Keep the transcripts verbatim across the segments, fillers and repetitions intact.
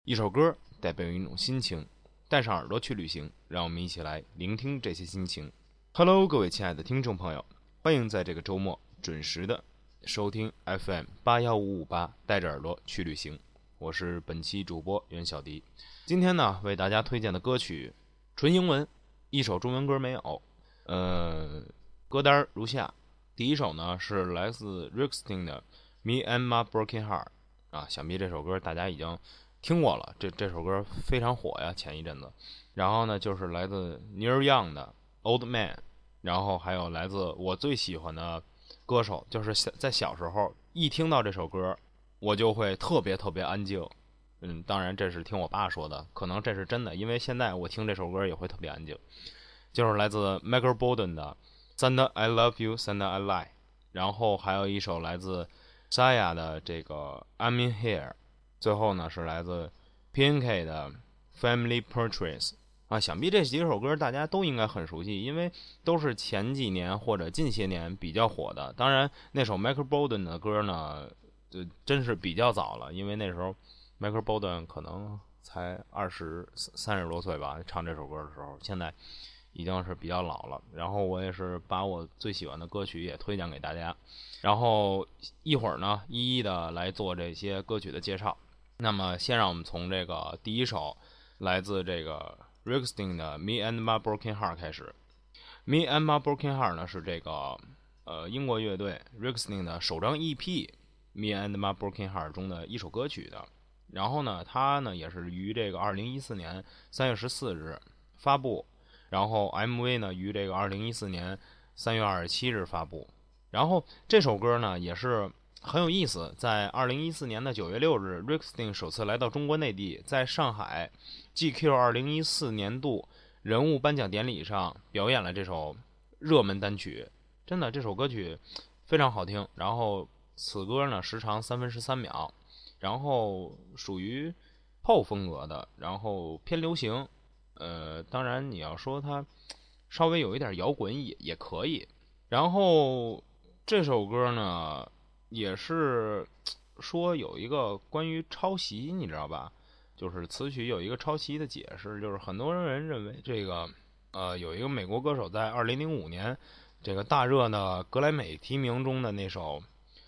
一首歌代表一种心情，带上耳朵去旅行，让我们一起来聆听这些心情。Hello， 各位亲爱的听众朋友，欢迎在这个周末准时的收听 F M 八一五五八，带着耳朵去旅行。我是本期主播袁小迪。今天呢，为大家推荐的歌曲纯英文，一首中文歌没有。呃，歌单如下。第一首呢是来自 Ricksting 的 Me and My Broken Heart 啊，想必这首歌大家已经听过了，这这首歌非常火呀，前一阵子。然后呢就是来自 Neil Young 的 Old Man， 然后还有来自我最喜欢的歌手，就是在小时候一听到这首歌我就会特别特别安静。嗯，当然这是听我爸说的，可能这是真的，因为现在我听这首歌也会特别安静。就是来自 Michael Bolton 的 Santa I Love You Santa I Lie， 然后还有一首来自 Sia 的这个 I'm In Here， 最后呢是来自 P N K 的 Family Portraits 啊，想必这几首歌大家都应该很熟悉，因为都是前几年或者近些年比较火的。当然那首 Michael Bolton 的歌呢就真是比较早了，因为那时候 Michael Bolton 可能才二十三十多岁吧，唱这首歌的时候，现在已经是比较老了。然后我也是把我最喜欢的歌曲也推荐给大家，然后一会儿呢一一的来做这些歌曲的介绍。那么先让我们从这个第一首来自这个 Ricksting 的 Me and My Broken Heart 开始。 Me and My Broken Heart 呢是这个呃英国乐队 Ricksting 的首张 E P Me and My Broken Heart 中的一首歌曲的。然后呢它呢也是于这个二零一四年三月十四日发布，然后 M V 呢于这个二零一四年三月二十七日发布。然后这首歌呢也是很有意思，在二零一四年的九月六日 Ricksting 首次来到中国内地，在上海 G Q 二零一四年度人物颁奖典礼上表演了这首热门单曲。真的这首歌曲非常好听，然后此歌呢时长三分十三秒，然后属于 pop 风格的，然后偏流行。呃，当然你要说它稍微有一点摇滚也也可以。然后这首歌呢也是说有一个关于抄袭，你知道吧，就是词曲有一个抄袭的解释，就是很多人认为这个呃有一个美国歌手在二零零五年这个大热的格莱美提名中的那首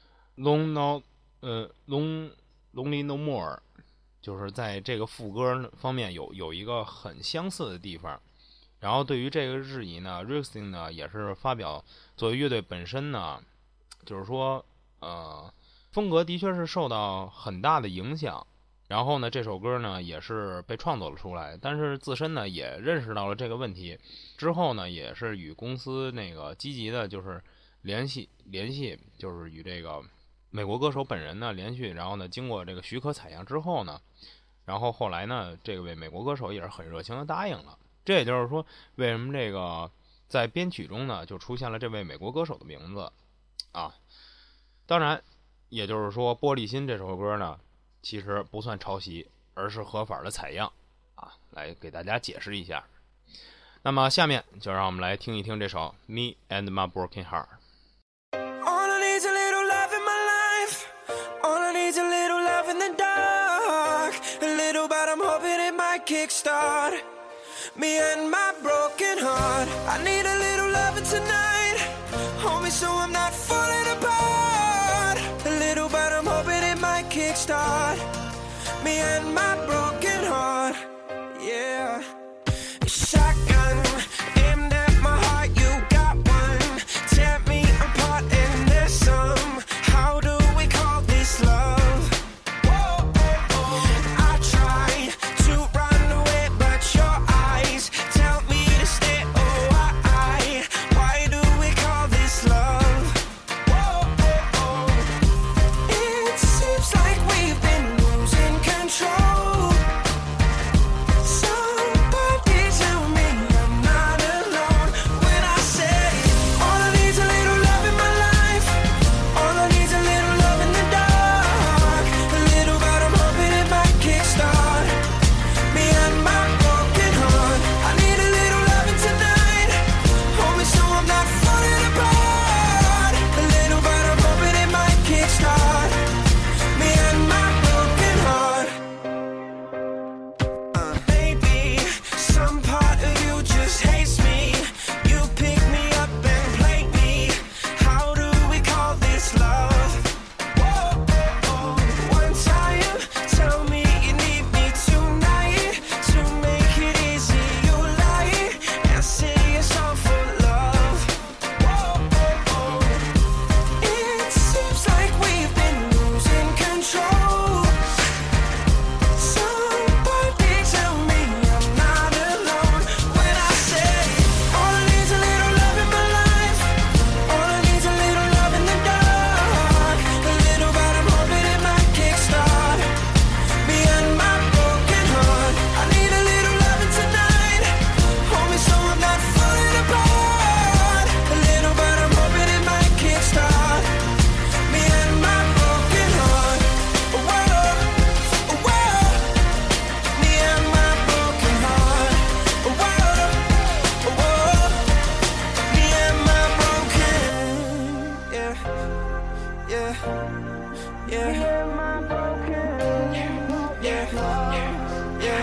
Long No 呃 Long Lonely No More， 就是在这个副歌方面有有一个很相似的地方。然后对于这个质疑呢 Ricksting 呢也是发表，作为乐队本身呢就是说呃风格的确是受到很大的影响，然后呢这首歌呢也是被创作了出来，但是自身呢也认识到了这个问题，之后呢也是与公司那个积极的就是联系联系就是与这个美国歌手本人呢联系，然后呢经过这个许可采样之后呢，然后后来呢这位美国歌手也是很热情的答应了。这也就是说为什么这个在编曲中呢就出现了这位美国歌手的名字啊。当然也就是说玻璃心这首歌呢其实不算抄袭，而是合法的采样啊，来给大家解释一下。那么下面就让我们来听一听这首 Me and My Broken Heart。All I need is a little love in my life, all I need is a little love in the dark, a little but I'm hoping it might kickstart me and my broken heart. I need a little loving tonight, hold me so I'm not falling apart, a little but I'm hoping it might kickstart me and my broken heart. Yeah, shotgun aimed at my heart, you got one, tear me apart and there's some. How do we call this love? Whoa, oh, oh. I try to run away but your eyes tell me to stay. Oh, why, why do we call this love? Whoa, oh, oh. It seems like we've been losing control.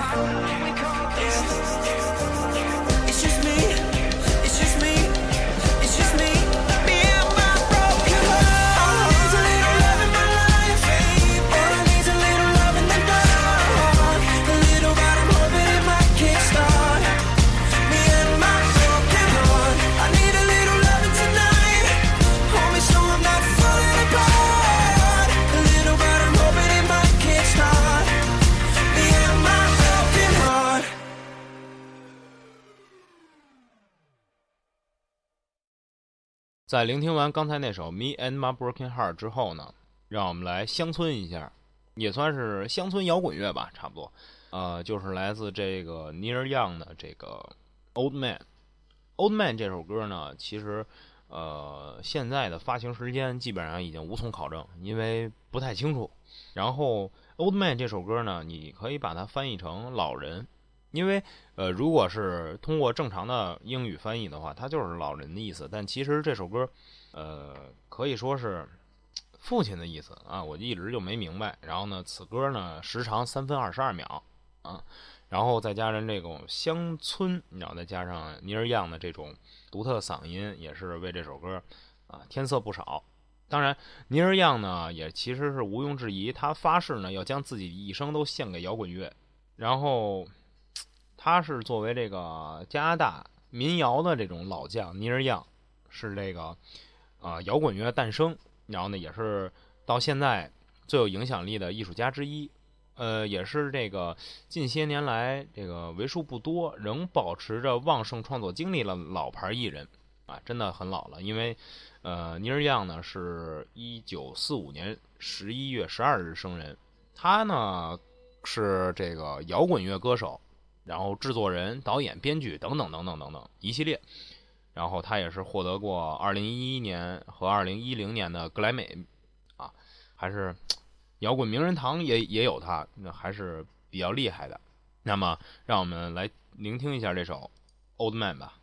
在聆听完刚才那首《Me and My Broken Heart》之后呢，让我们来乡村一下，也算是乡村摇滚乐吧，差不多。呃，就是来自这个 Neil Young 的这个《Old Man》。《Old Man》这首歌呢，其实呃现在的发行时间基本上已经无从考证，因为不太清楚。然后《Old Man》这首歌呢，你可以把它翻译成老人。因为呃，如果是通过正常的英语翻译的话，它就是老人的意思。但其实这首歌，呃，可以说是父亲的意思啊，我一直就没明白。然后呢，此歌呢时长三分二十二秒啊，然后再加上这种乡村，然后再加上尼尔样的这种独特嗓音，也是为这首歌啊添色不少。当然，尼尔样呢也其实是毋庸置疑，他发誓呢要将自己一生都献给摇滚乐，然后。他是作为这个加拿大民谣的这种老将尼尔样，是这个啊、呃、摇滚乐诞生，然后呢也是到现在最有影响力的艺术家之一，呃也是这个近些年来这个为数不多仍保持着旺盛创作经历的老牌艺人啊，真的很老了。因为呃尼尔样呢是一九四五年十一月十二日生人，他呢是这个摇滚乐歌手。然后制作人、导演、编剧等等等等等等一系列，然后他也是获得过二零一一年和二零一零年的格莱美啊，还是摇滚名人堂也也有他，那还是比较厉害的。那么，让我们来聆听一下这首《Old Man》吧。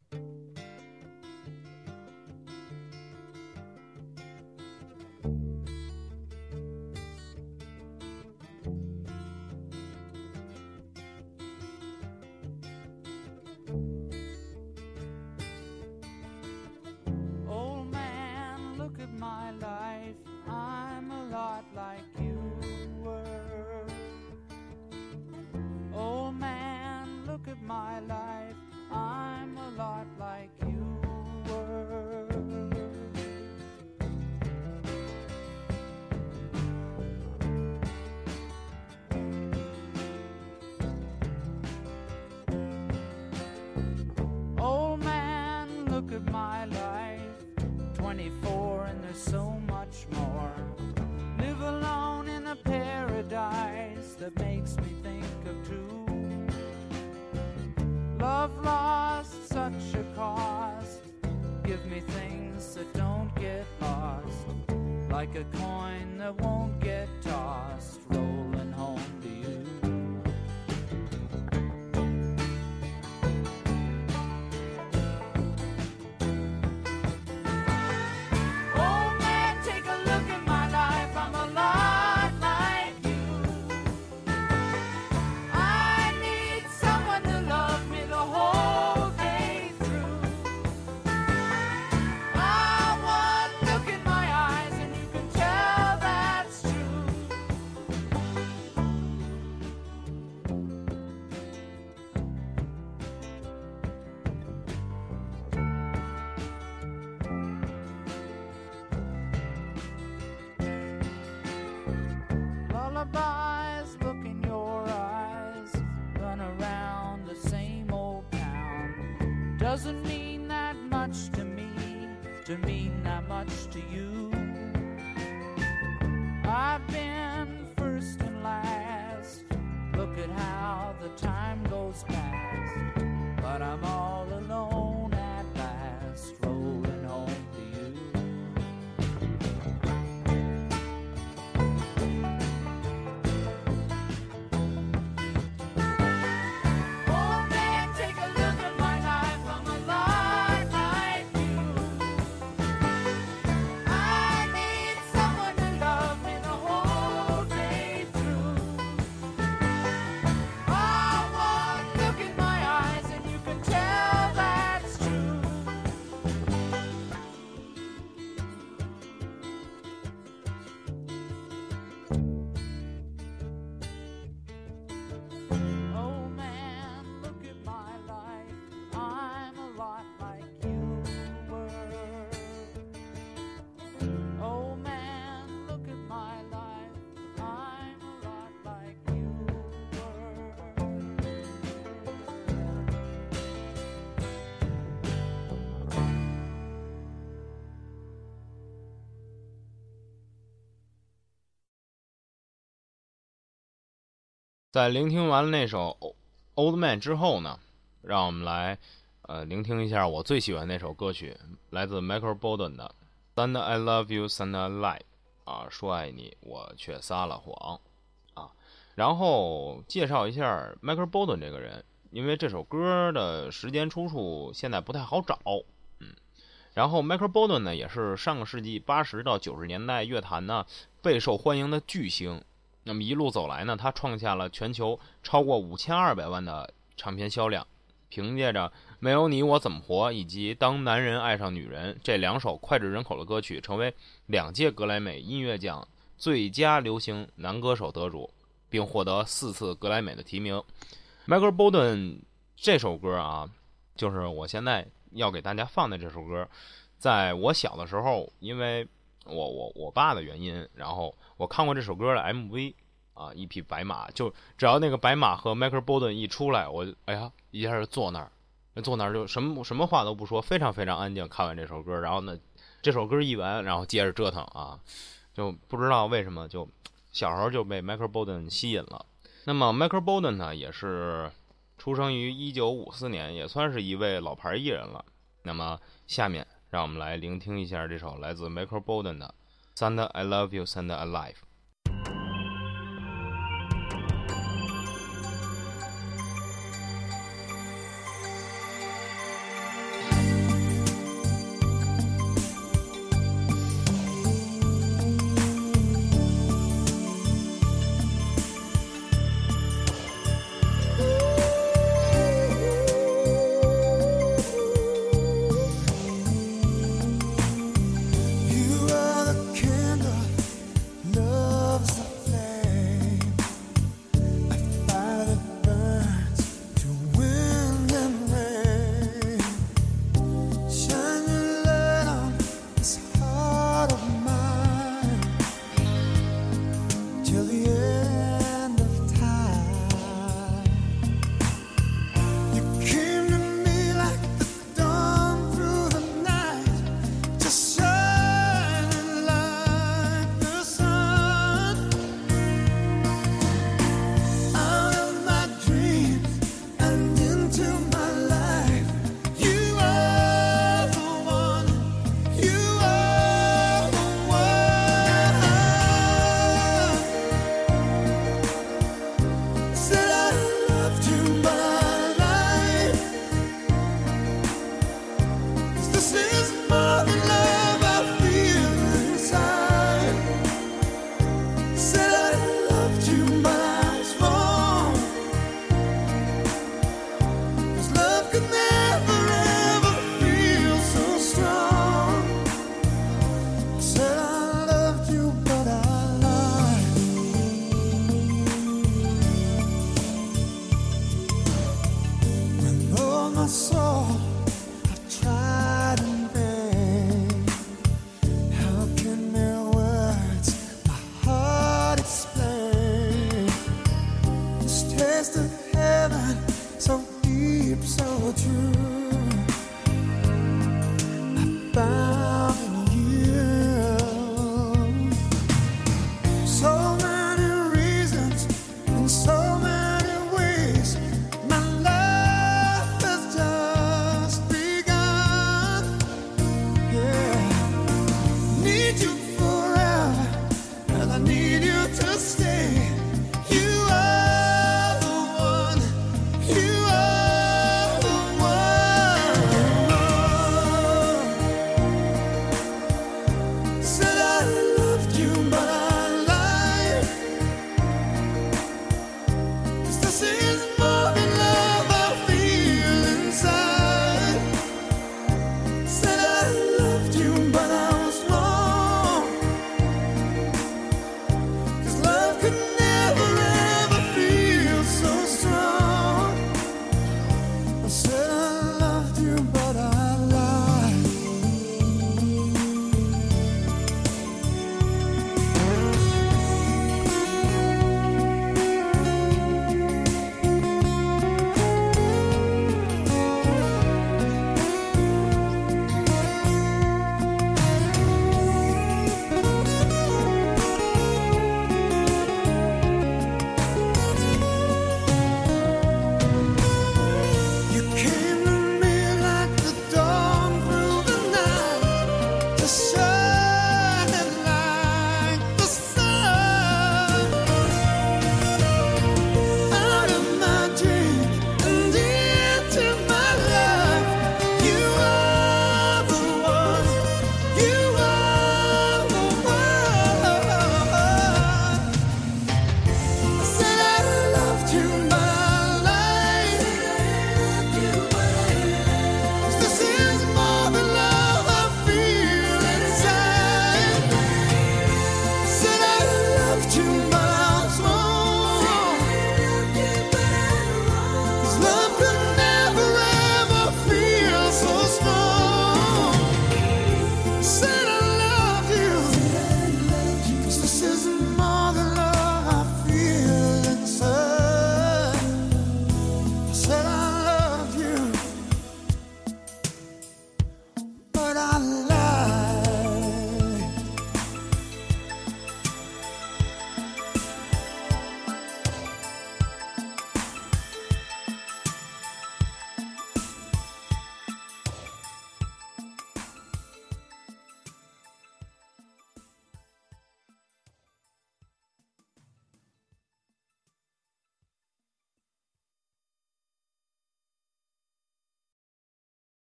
twenty-four and there's so much more. Live alone in a paradise that makes me think of two. Love lost such a cost. Give me things that don't get lost, like a coin that won't get tossed, rolling home to you. Lullabies look in your eyes, run around the same old town. Doesn't mean that much to me, to mean that much to you. I've been first and last, look at how the time goes past, but I'm all alone at last, rolling home to you. Oh 在聆听完了那首 Old Man 之后呢，让我们来呃聆听一下我最喜欢那首歌曲，来自 Michael Bolton 的 Son I Love You Son I Lie 啊，说爱你我却撒了谎啊。然后介绍一下 Michael Bolton 这个人，因为这首歌的时间出处现在不太好找，嗯。然后 Michael Bolton 呢，也是上个世纪八十到九十年代乐坛呢备受欢迎的巨星。那么一路走来呢，他创下了全球超过五千二百万的唱片销量，凭借着《没有你我怎么活》以及《当男人爱上女人》这两首脍炙人口的歌曲，成为两届格莱美音乐奖最佳流行男歌手得主，并获得四次格莱美的提名。Michael Bolton 这首歌啊，就是我现在要给大家放的这首歌，在我小的时候，因为我我我爸的原因，然后我看过这首歌的 M V 啊，一匹白马，就只要那个白马和 Michael Bolton 一出来，我哎呀一下就坐那儿，坐那儿就什么什么话都不说，非常非常安静。看完这首歌，然后呢，这首歌一完，然后接着折腾啊，就不知道为什么就小时候就被 Michael Bolton 吸引了。那么 Michael Bolton 呢，也是出生于一九五四年，也算是一位老牌艺人了。那么下面让我们来聆听一下这首来自 Michael Bolton 的 Son I Love You Son I Lie。 You are the one, you are the one.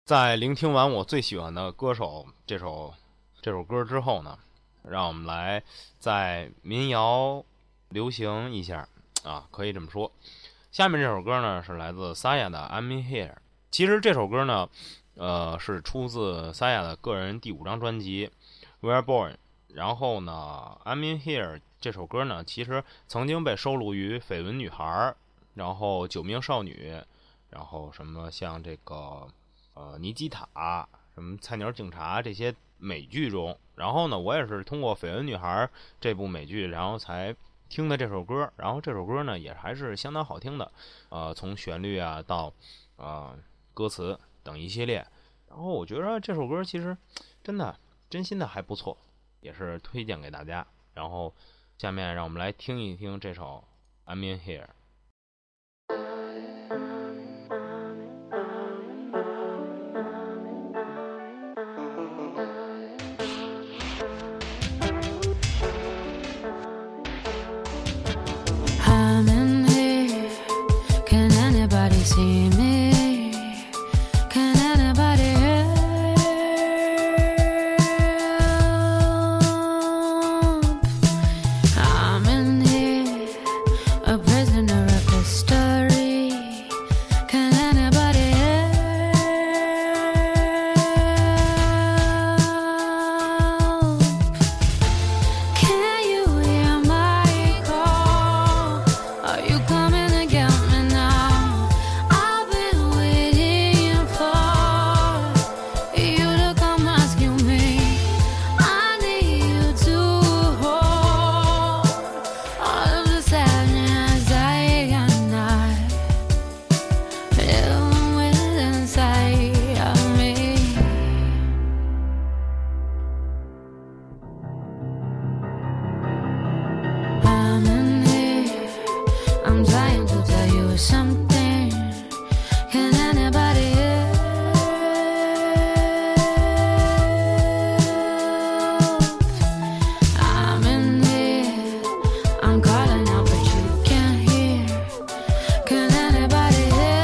在聆听完我最喜欢的歌手这首这首歌之后呢，让我们来在民谣流行一下啊，可以这么说。下面这首歌呢是来自 Saya 的 I'm in Here。 其实这首歌呢呃是出自 Saya 的个人第五张专辑 We're Born。 然后呢 I'm in Here 这首歌呢其实曾经被收录于绯闻女孩，然后九命少女，然后什么像这个呃尼基塔，什么菜鸟警察这些美剧中。然后呢我也是通过绯闻女孩这部美剧然后才听的这首歌，然后这首歌呢也还是相当好听的，呃从旋律啊到呃歌词等一系列。然后我觉得这首歌其实真的真心的还不错，也是推荐给大家。然后下面让我们来听一听这首 I'm in Here。I'm in here. Can anybody see me? Can anybody help? I'm in here, a prisoner of history. Can anybody help? Can you hear my call? Are you coming to get me now? I've been waiting for you to come rescue me. I need you to hold all of the sadness I cannot live with inside of me. I'm in here. I'm trying to tell you something. Can anybody help? I'm in here. I'm calling out, but you can't hear. Can anybody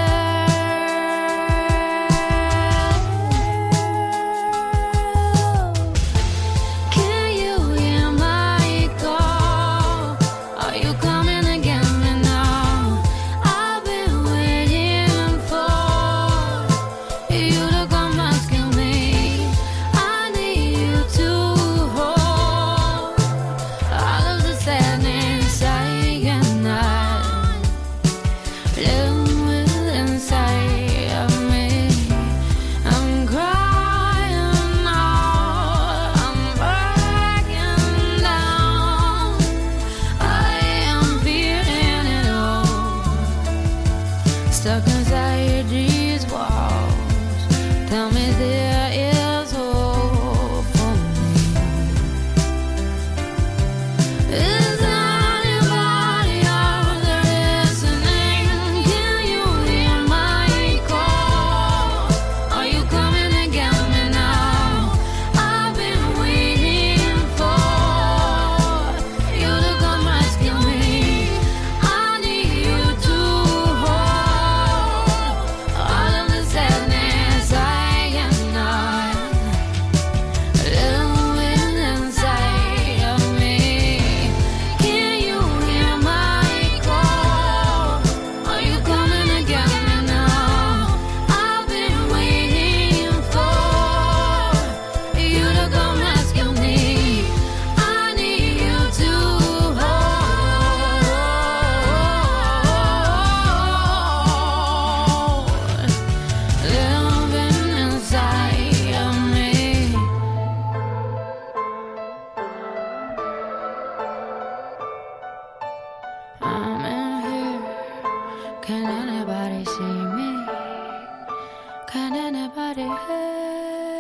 help? Can you hear my call? Are you coming to get me now? I've been waiting for you to come rescue me. I need you to hold all of the sadness I cannot live with inside of me. I'm crying out, I'm breaking down. I am feeling it all, stuck inside these walls. Tell me there is hope for me. Is anybody out there listening? Can you hear my call? Are you coming to get me now? I've been waiting for you to come rescue me. I need you to hold all of the sadness I cannot live with inside of me. Can you hear my call? Are you coming to get me now? I've been waiting for you to come rescue me. I need you to hold living inside of me. I'm in here. Can anybody see me? Can anybody help?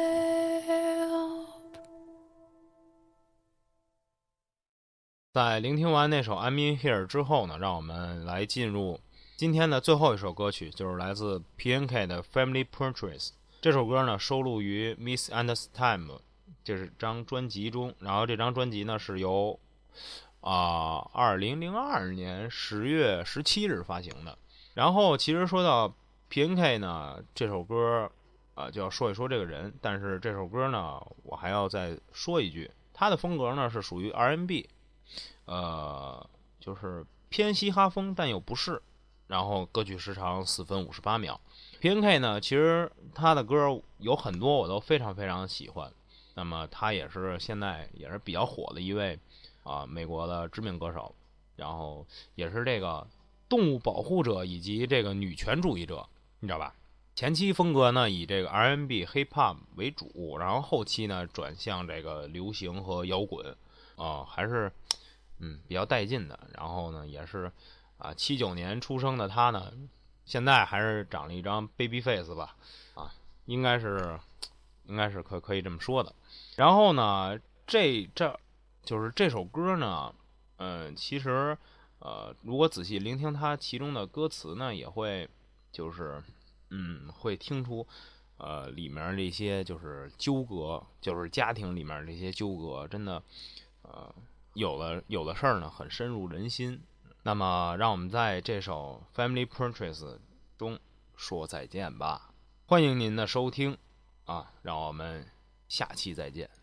在聆听完那首 I'm in Here 之后呢，让我们来进入今天的最后一首歌曲，就是来自 P N K 的 Family Portraits。 这首歌呢收录于 Misunderstand 这张专辑中，然后这张专辑呢是由啊二零零二年十月十七日发行的。然后其实说到 P N K 呢，这首歌啊、呃、就要说一说这个人。但是这首歌呢，我还要再说一句，他的风格呢是属于 R and B， 呃，就是偏嘻哈风，但又不是。然后歌曲时长四分五十八秒。P N K 呢，其实他的歌有很多我都非常非常喜欢。那么他也是现在也是比较火的一位啊美国的知名歌手，然后也是这个动物保护者以及这个女权主义者，你知道吧？前期风格呢以这个 R and B、Hip Hop 为主，然后后期呢转向这个流行和摇滚，啊，还是嗯比较带劲的。然后呢也是啊七九年出生的他呢，现在还是长了一张 baby face 吧，啊，应该是应该是可可以这么说的。然后呢，这这就是这首歌呢，嗯、呃，其实呃，如果仔细聆听它其中的歌词呢，也会就是嗯，会听出呃里面这些就是纠葛，就是家庭里面这些纠葛，真的呃有的有的事儿呢很深入人心。那么，让我们在这首《Family Portraits》中说再见吧。欢迎您的收听啊，让我们下期再见。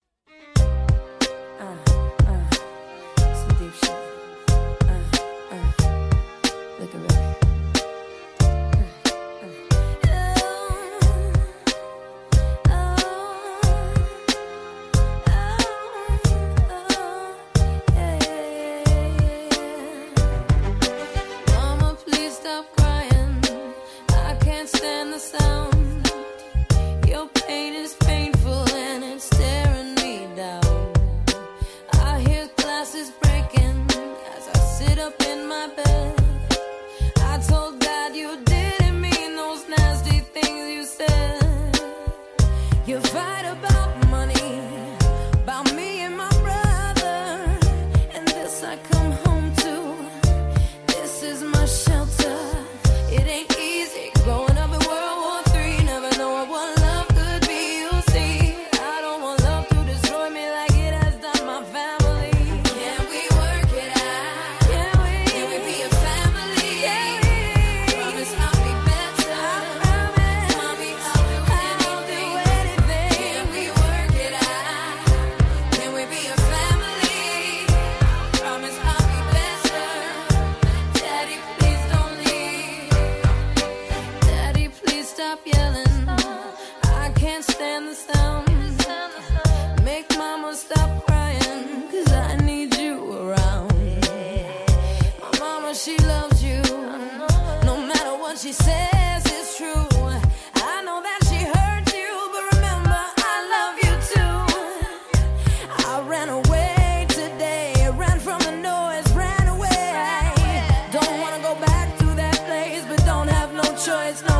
Uh, uh, some deep shit. Uh, uh, looking ready. Stand the sound. Your pain is painful and it's staring me down. I hear glasses breaking as I sit up in my bed. I told God you didn't mean those nasty things you said. You fight about money, about me and my brother, and this I come home to. This is my shelter. It ain't easy growing up in World War Three. Never know what love could be, you see. I don't want love to destroy me like it has done my family. Can we work it out? Can we? Can we be a family? Can we? Promise I'll be better. I promise. Mommy, I'll do anything. I'll do anything. Can we work it out? Can we be a family? Promise I'll be better. Daddy, please don't leave. Daddy, please stop yelling. I can't stand the sound. Make mama stop crying, cause I need you around. My mama, she loves you. No matter what she says, it's true. I know that she hurt you, but remember, I love you too. I ran away today, ran from the noise, ran away. Don't wanna go back to that place, but don't have no choice, no